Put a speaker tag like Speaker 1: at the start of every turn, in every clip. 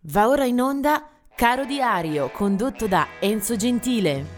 Speaker 1: Va ora in onda Caro Diario, condotto da Enzo Gentile.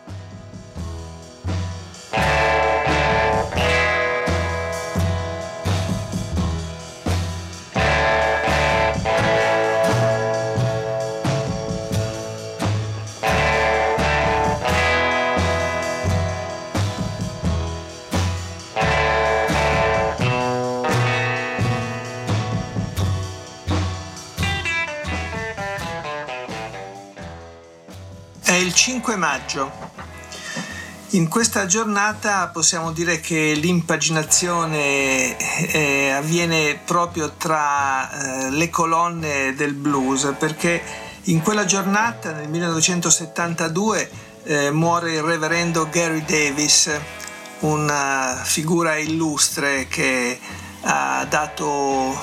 Speaker 2: È il 5 maggio. In questa giornata possiamo dire che l'impaginazione avviene proprio tra le colonne del blues, perché in quella giornata, nel 1972, muore il reverendo Gary Davis, una figura illustre che ha dato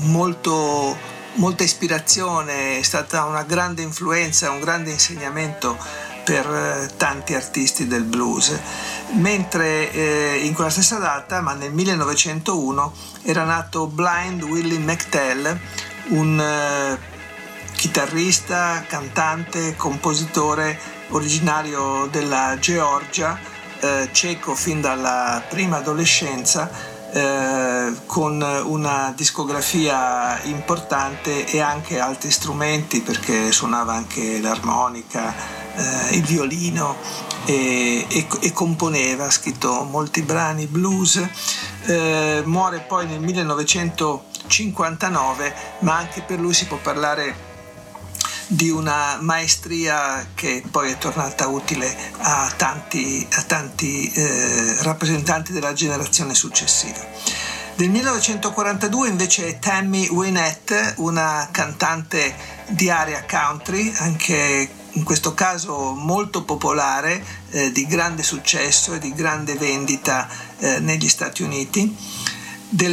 Speaker 2: molta ispirazione, è stata una grande influenza, un grande insegnamento per tanti artisti del blues. Mentre in quella stessa data, ma nel 1901, era nato Blind Willie McTell, un chitarrista, cantante, compositore originario della Georgia, ceco fin dalla prima adolescenza, con una discografia importante e anche altri strumenti, perché suonava anche l'armonica, il violino e componeva, ha scritto molti brani blues. Muore poi nel 1959, ma anche per lui si può parlare di una maestria che poi è tornata utile a tanti rappresentanti della generazione successiva. Del 1942 invece è Tammy Wynette, una cantante di area country, anche in questo caso molto popolare, di grande successo e di grande vendita negli Stati Uniti. Del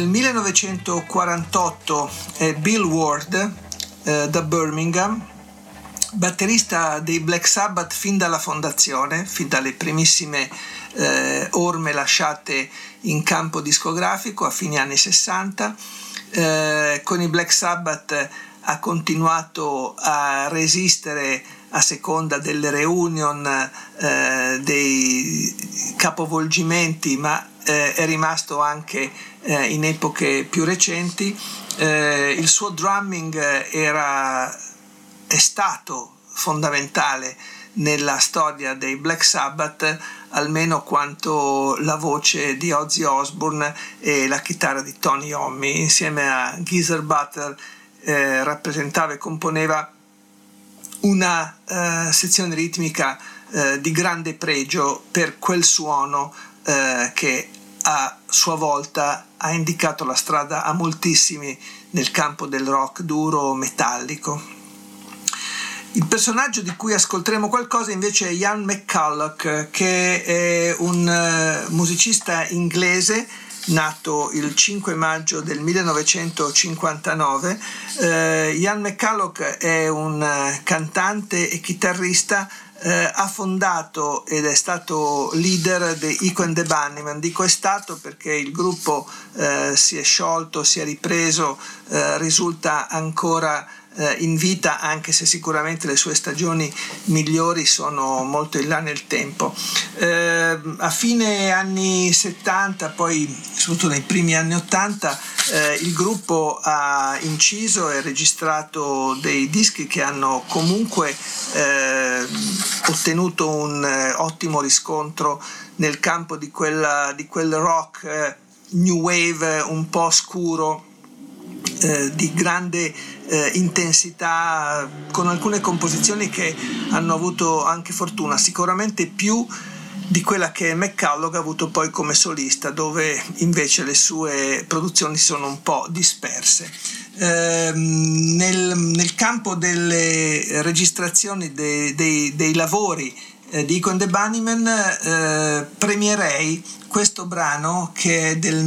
Speaker 2: 1948 è Bill Ward, da Birmingham, batterista dei Black Sabbath fin dalla fondazione, fin dalle primissime orme lasciate in campo discografico a fine anni 60. Con i Black Sabbath ha continuato a resistere a seconda delle reunion, dei capovolgimenti, ma è rimasto anche in epoche più recenti. Il suo drumming è stato fondamentale nella storia dei Black Sabbath, almeno quanto la voce di Ozzy Osbourne e la chitarra di Tony Iommi. Insieme a Geezer Butler rappresentava e componeva una sezione ritmica di grande pregio per quel suono che a sua volta ha indicato la strada a moltissimi nel campo del rock duro metallico. Il personaggio di cui ascolteremo qualcosa invece è Ian McCulloch, che è un musicista inglese nato il 5 maggio del 1959. Ian McCulloch è un cantante e chitarrista. Ha fondato ed è stato leader dei Echo and the Bunnymen. Dico è stato perché il gruppo si è sciolto, si è ripreso, risulta ancora in vita, anche se sicuramente le sue stagioni migliori sono molto in là nel tempo. A fine anni 70, poi soprattutto nei primi anni 80, il gruppo ha inciso e registrato dei dischi che hanno comunque ottenuto un ottimo riscontro nel campo di quel rock new wave un po' scuro, di grande intensità, con alcune composizioni che hanno avuto anche fortuna, sicuramente più di quella che McCulloch ha avuto poi come solista, dove invece le sue produzioni sono un po' disperse. Nel campo delle registrazioni dei lavori di Echo and the Bunnymen, premierei questo brano che è del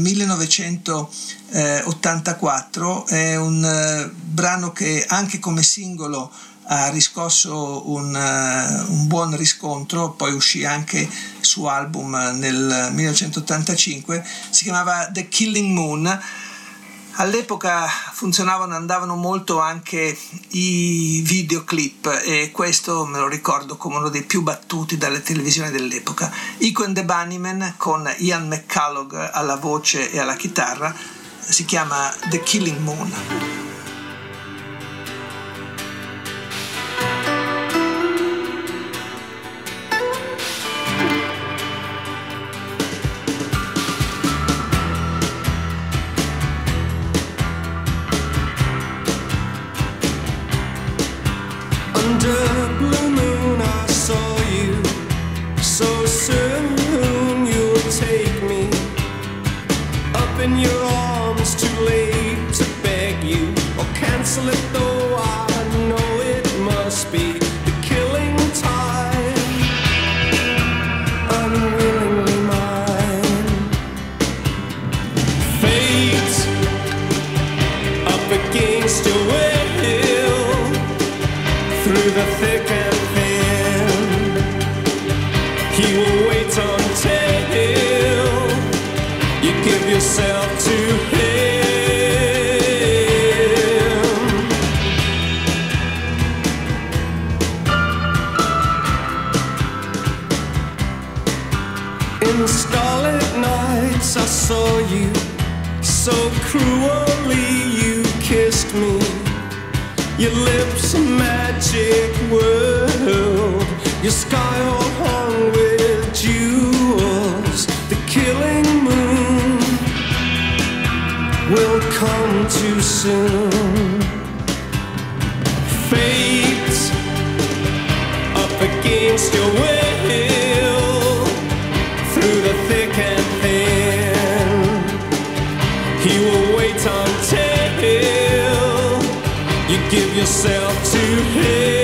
Speaker 2: 1984, è un brano che anche come singolo ha riscosso un buon riscontro, poi uscì anche su album nel 1985, si chiamava The Killing Moon. All'epoca funzionavano e andavano molto anche i videoclip, e questo me lo ricordo come uno dei più battuti dalle televisioni dell'epoca. Echo and the Bunnymen con Ian McCulloch alla voce e alla chitarra, si chiama The Killing Moon.
Speaker 3: In your arms, too late to beg you or cancel it, though I know it must be the killing time, unwillingly mine. Fate up against your will, through the thick and thin, he will wait until you give yourself to him. In starlit nights I saw you, so cruelly you kissed me. Your lips a magic world, your sky all hung with jewels. The killing moon will come too soon. Fate up against your will, through the thick and thin, he will wait until you give yourself to him.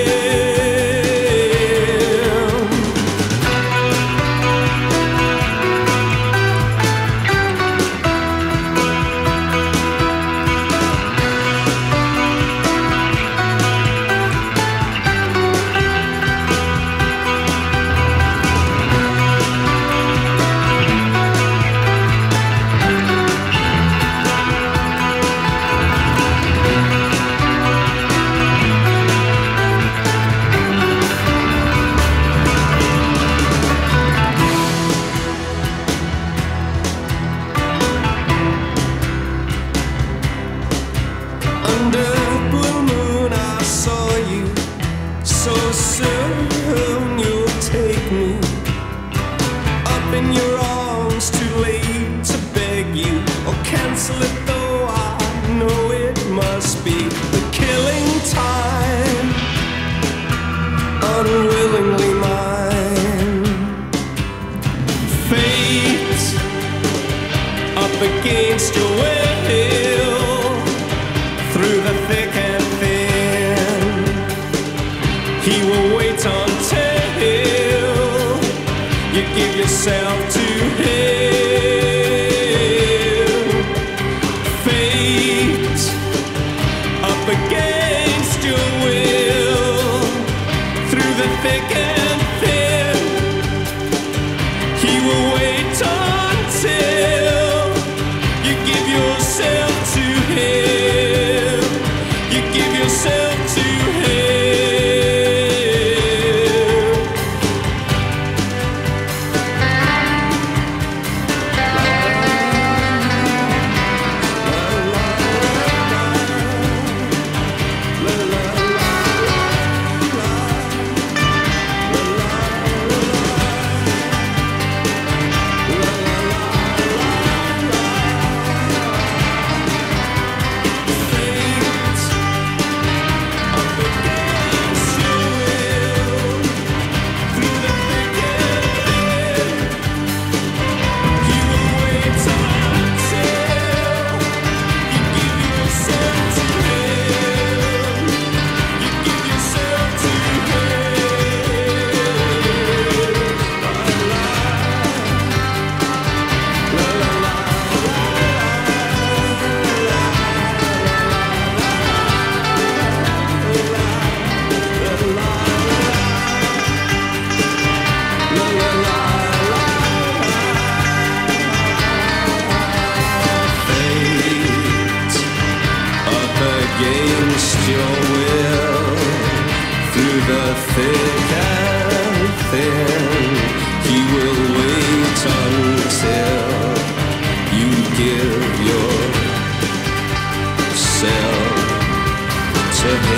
Speaker 3: through the thick and thin. He will wait until you give yourself to him.